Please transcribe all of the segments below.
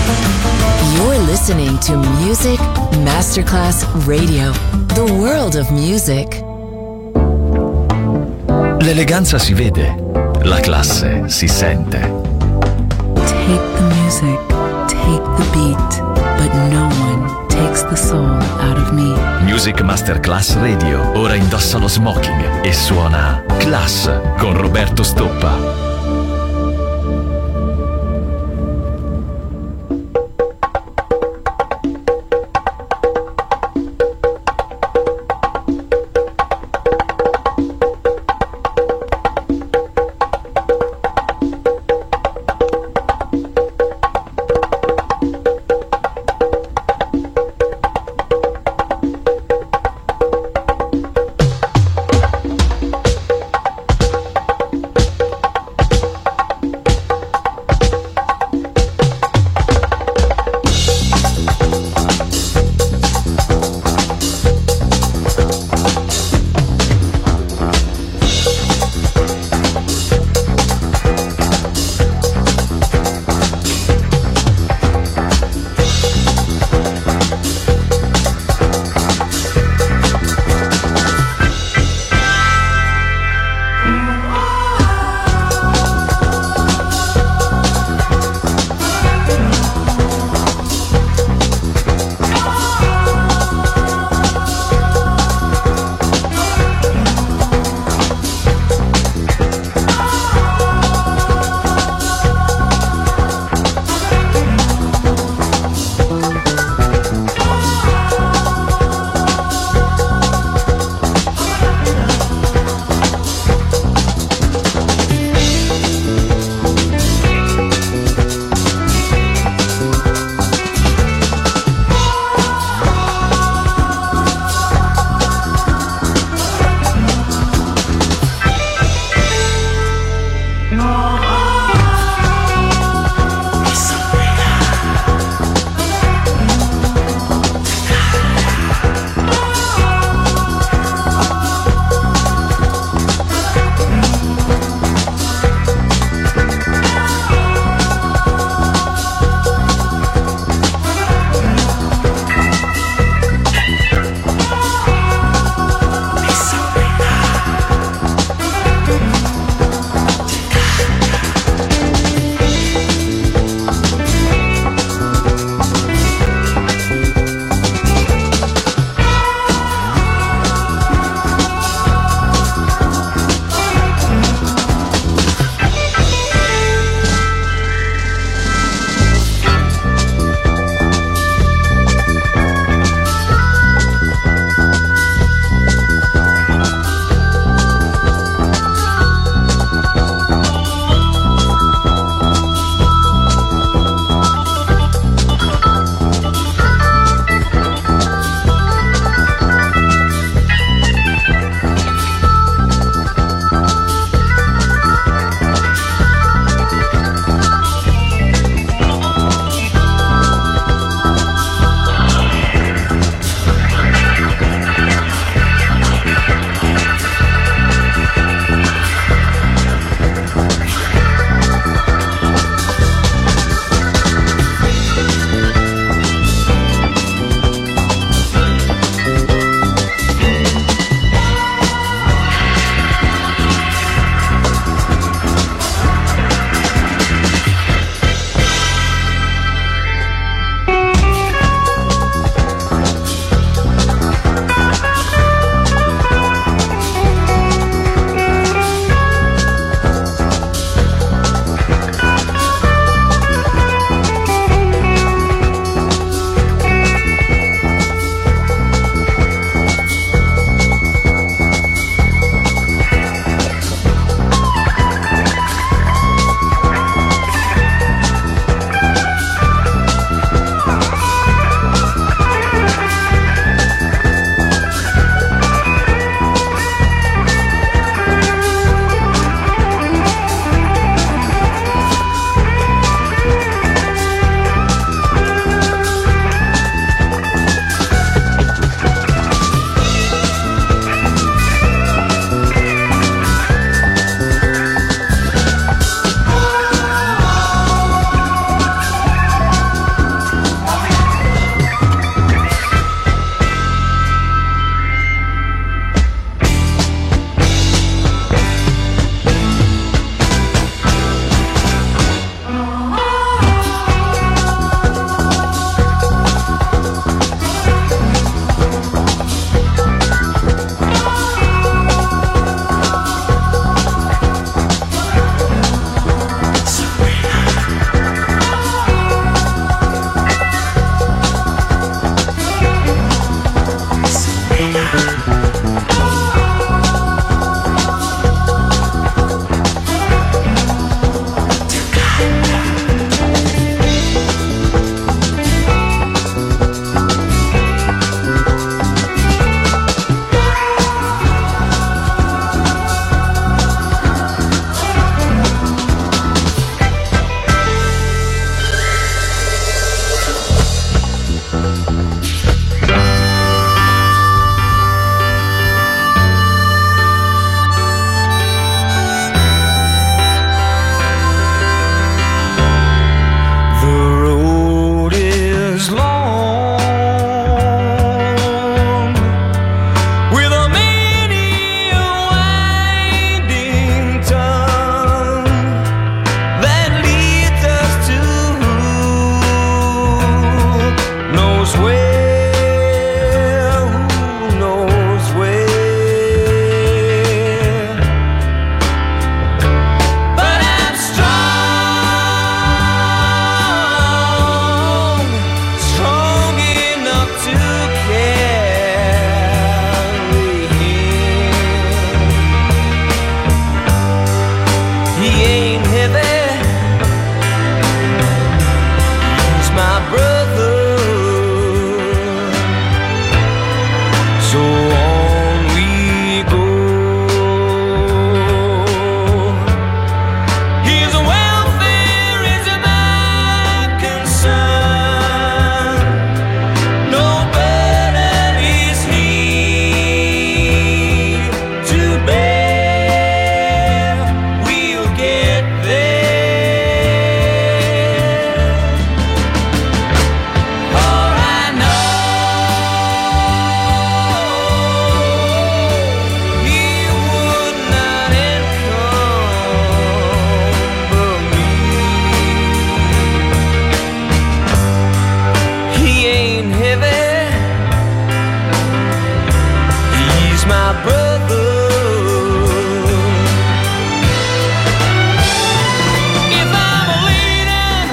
You're listening to Music Masterclass Radio, the world of music. L'eleganza si vede, la classe si sente. Take the music, take the beat, but no one takes the soul out of me. Music Masterclass Radio, ora indossa lo smoking e suona Class con Roberto Stoppa. brother. So on we go. His welfare is my concern. No burden is he to bear. We'll get there. For I know he would not encumber me. He ain't heavy, he's my brother. If I'm leaning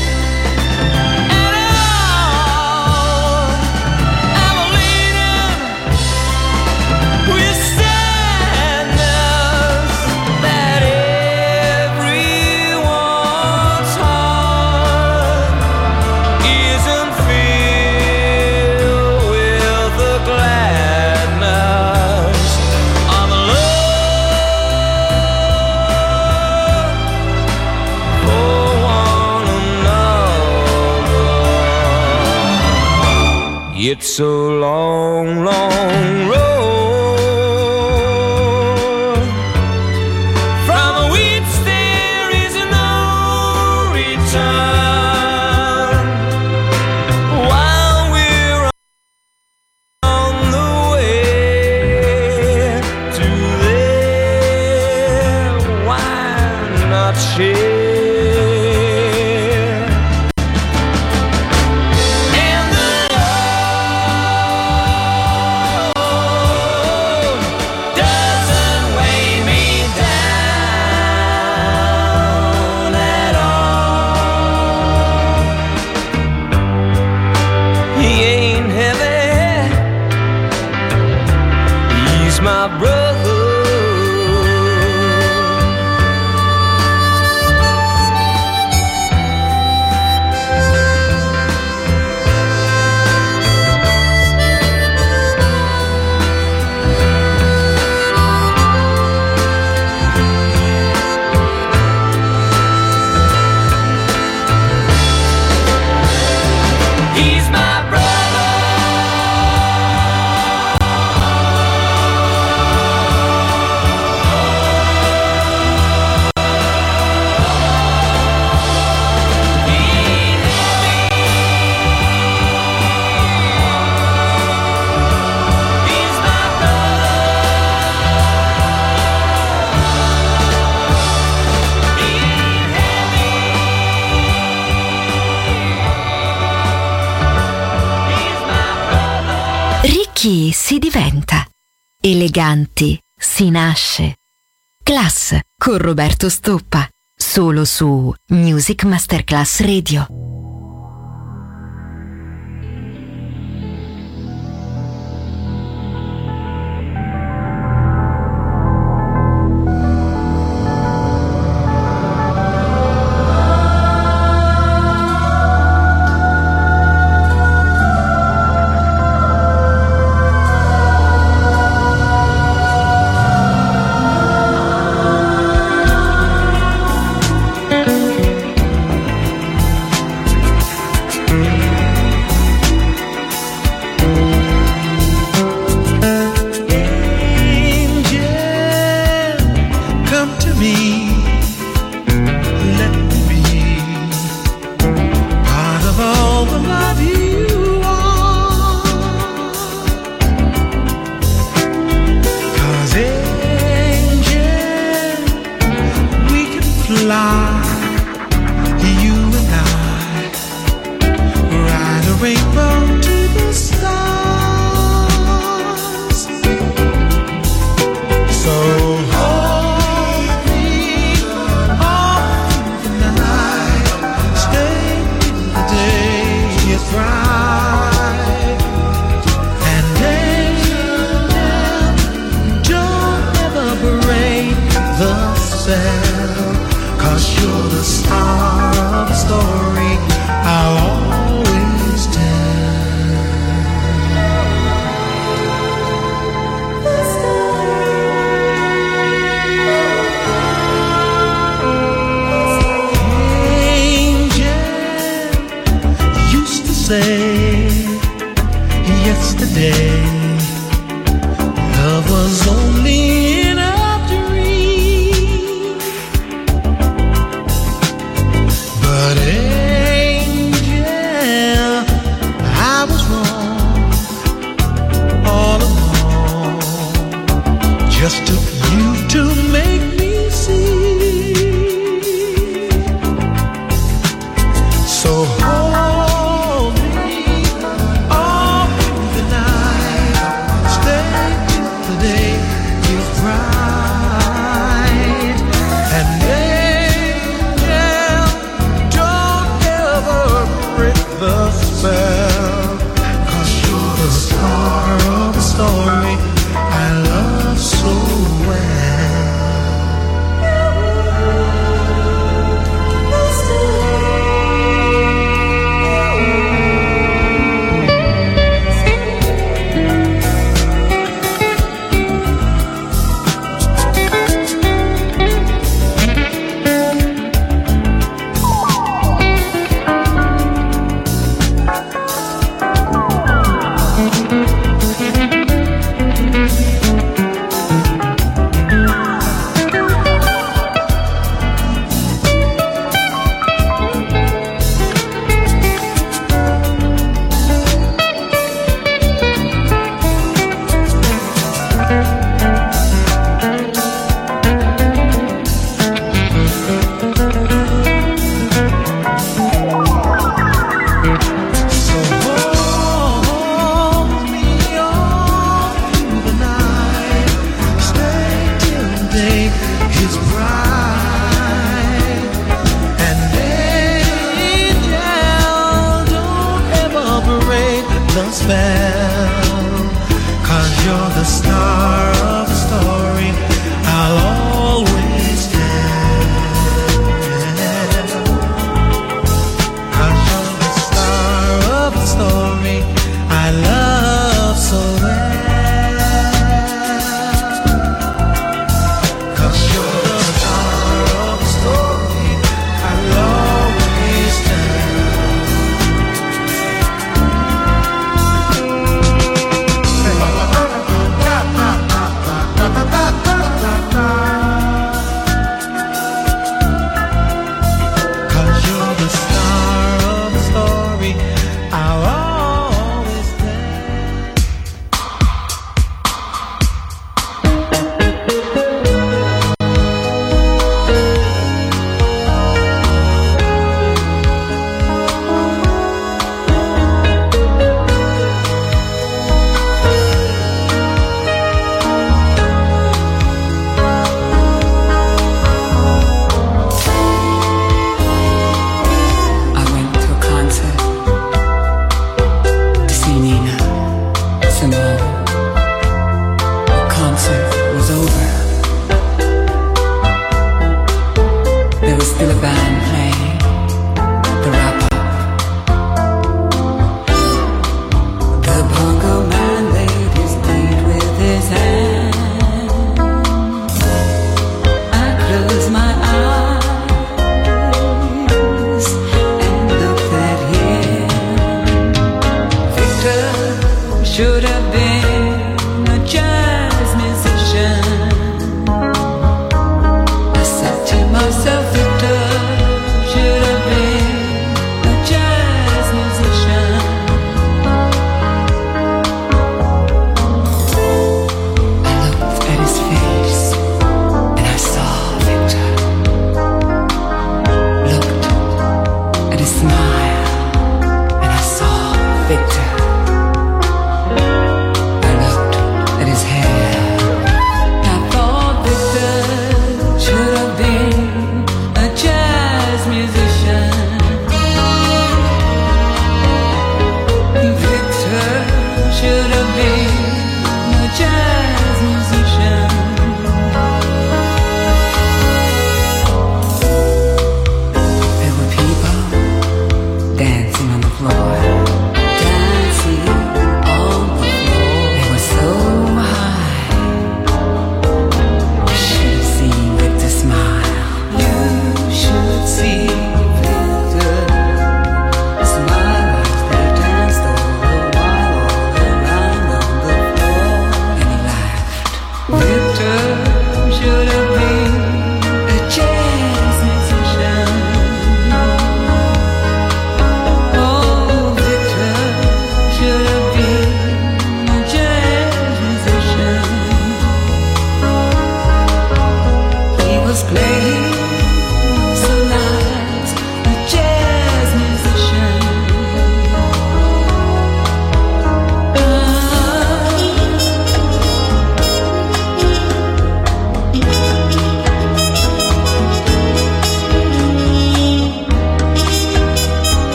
at all, I'm leaning with sadness that everyone's heart isn't filled with the gladness of love for one another. It's a long, long road from which there is no return. While we're on the way to there, why not share? And the load doesn't weigh me down at all. He ain't heavy, he's my brother. He's my brother. He's my Ricchi si diventa, eleganti si nasce. Class con Roberto Stoppa, solo su Music Masterclass Radio. say yesterday love was only in a dream, but angel, I was wrong all along. Just took you to make me see. So hold me all through the night, stay till the day is bright. And angel, don't ever break the spell, 'cause you're the star of the story I love so well.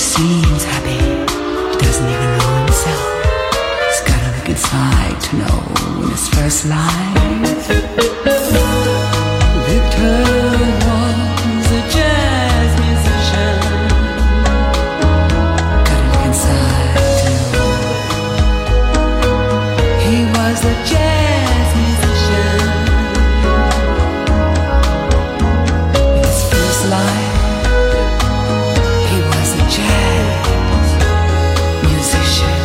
seems happy, doesn't even know himself. He's gotta look inside to know in his first life. Victor was a jazz musician. Gotta look inside to know he was a jazz musician. In his first life, he was a jazz musician.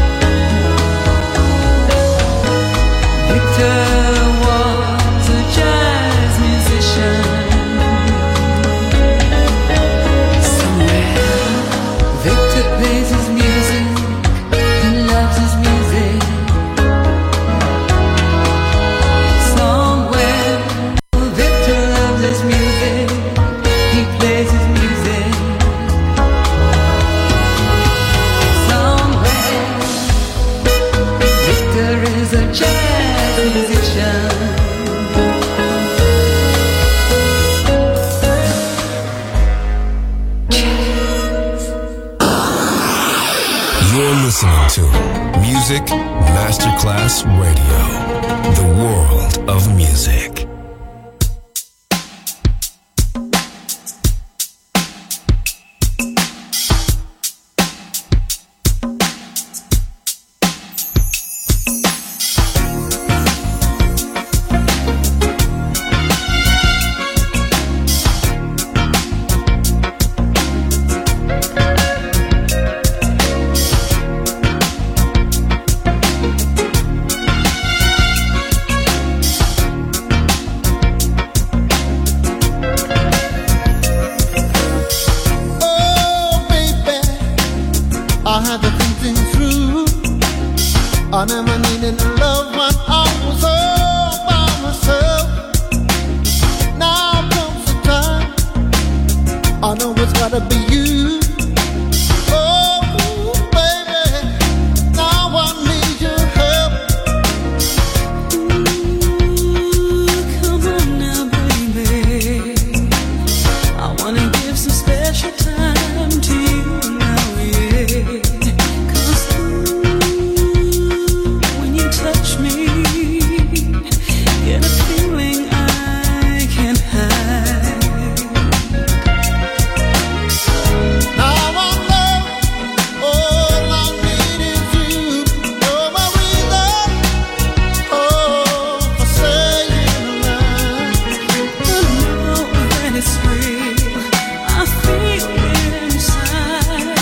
Victor was a jazz musician. Somewhere, Victor plays his music, he loves his music. Somewhere, Victor loves his music, he plays his music. Somewhere, Victor is a jazz musician. You're listening to Music Masterclass Radio, the world of music. Oh, baby, I had to think things through. I never needed a love when I was all by myself. Now comes the time, I know it's gotta be you. Oh, baby, now I need your help. Come on now, baby. I wanna give some special time to you now, yeah. 'Cause when you touch me, get a feeling I can't hide. Now I know all I need is you. You're my reason, oh, for staying alive. I know that it's real, I feel it inside.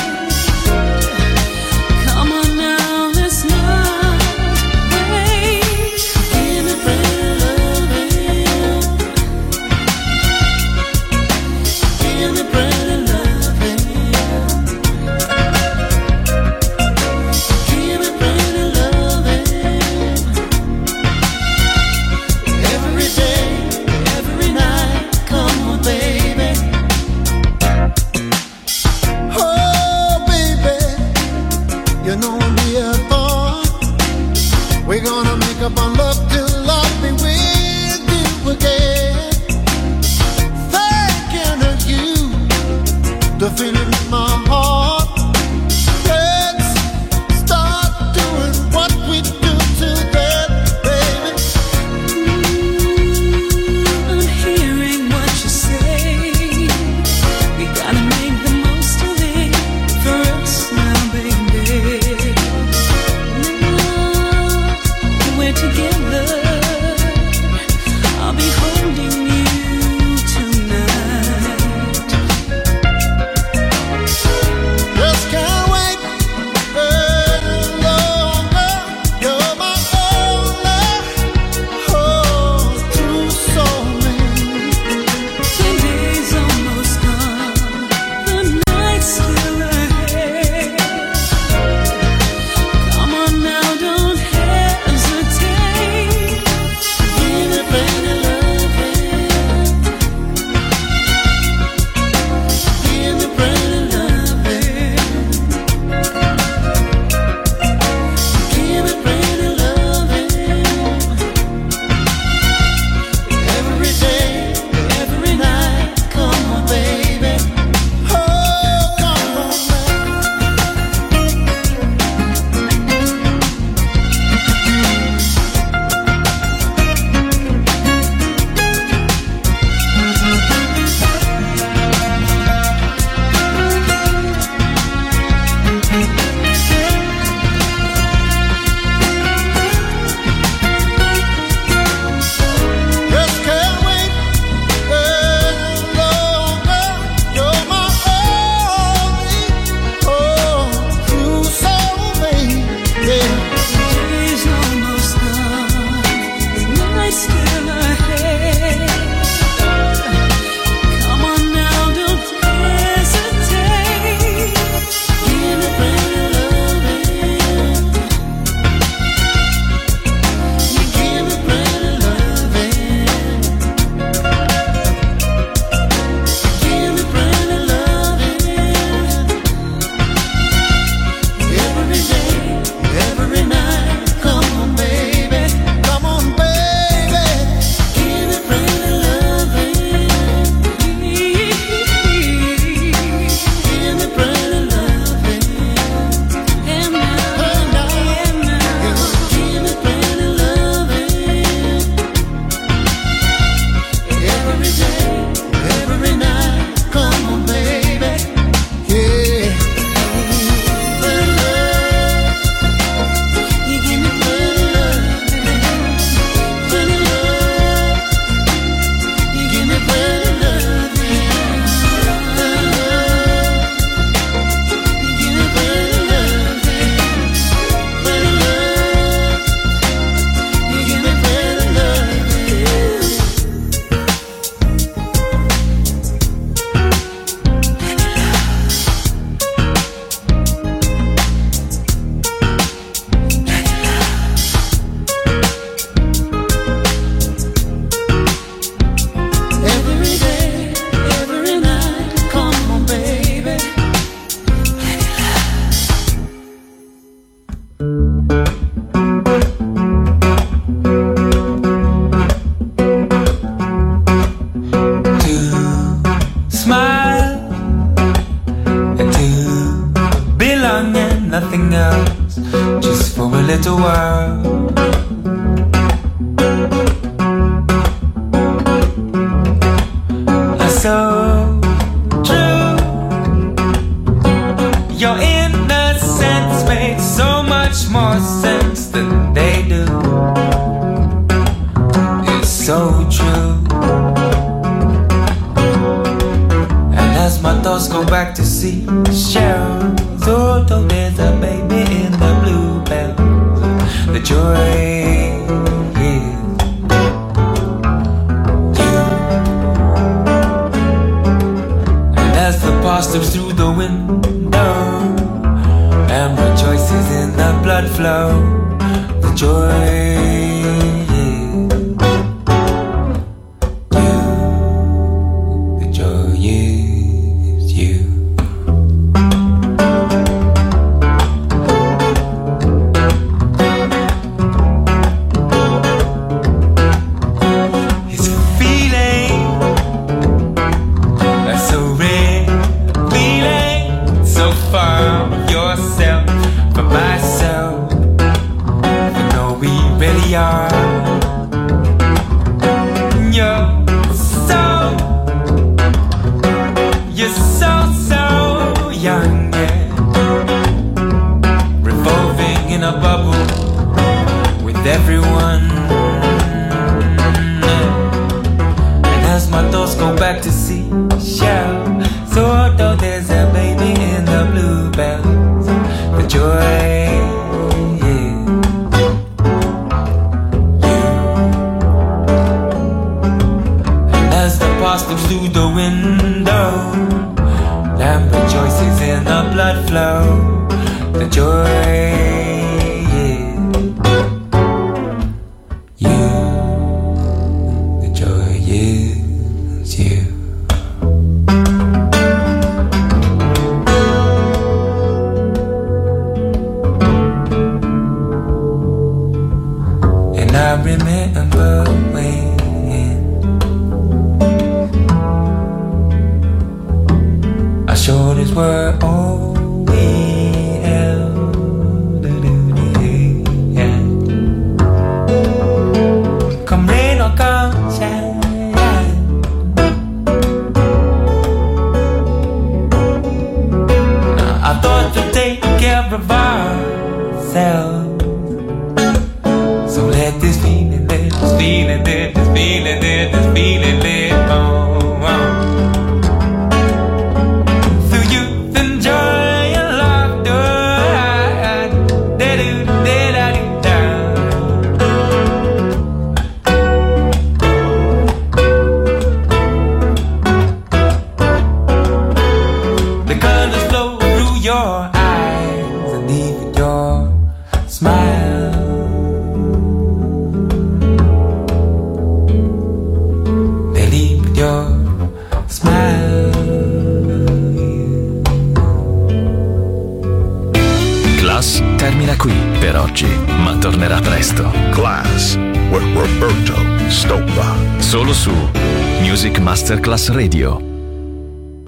Come on now, let's not wait. Give me better loving. Give me better loving. Give me better loving. Every day, every night, come on, baby. Oh, baby, you know when we are born, we're gonna make up our love till I'll be with you again. Thinking of you, the feeling in my heart. Let's start doing what we do together, baby. I'm hearing what you say. We gotta make the most of it for us now, baby. Now we're together. nothing else, just for a little while. So true, your innocence makes so much more sense than they do. It's so true. And as my thoughts go back to see shells, although there's a baby in the bluebells, the joy. Steps through the window and rejoices in the blood flow, the joy. The joy is you. It's a feeling that's so rare, so far from yourself, from myself. You know we really are. You're so young, yeah. Revolving in a bubble with everyone. And as my thoughts go back to seashell, so although there's a baby in the bluebells, the joy. And as the past slips through the window, lamb rejoices in the blood flow, the joy. I remember when our shoulders were all we held. Yeah. Come rain or come shine, I thought to take care of ourselves. So let this feeling live on. Through youth and joy and laughter, the colors flow through your eyes and even your smile. Class termina qui per oggi, ma tornerà presto. Class with Roberto Stoppa. Solo su Music Masterclass Radio.